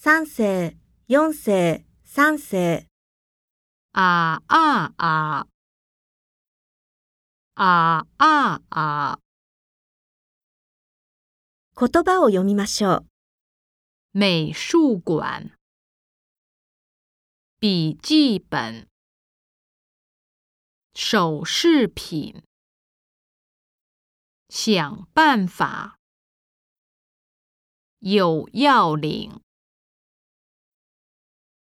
3世、4世、3世。 啊啊啊！啊啊啊！ 言葉を読みましょう。 美术馆。笔记本。首饰品。想办法。有要领。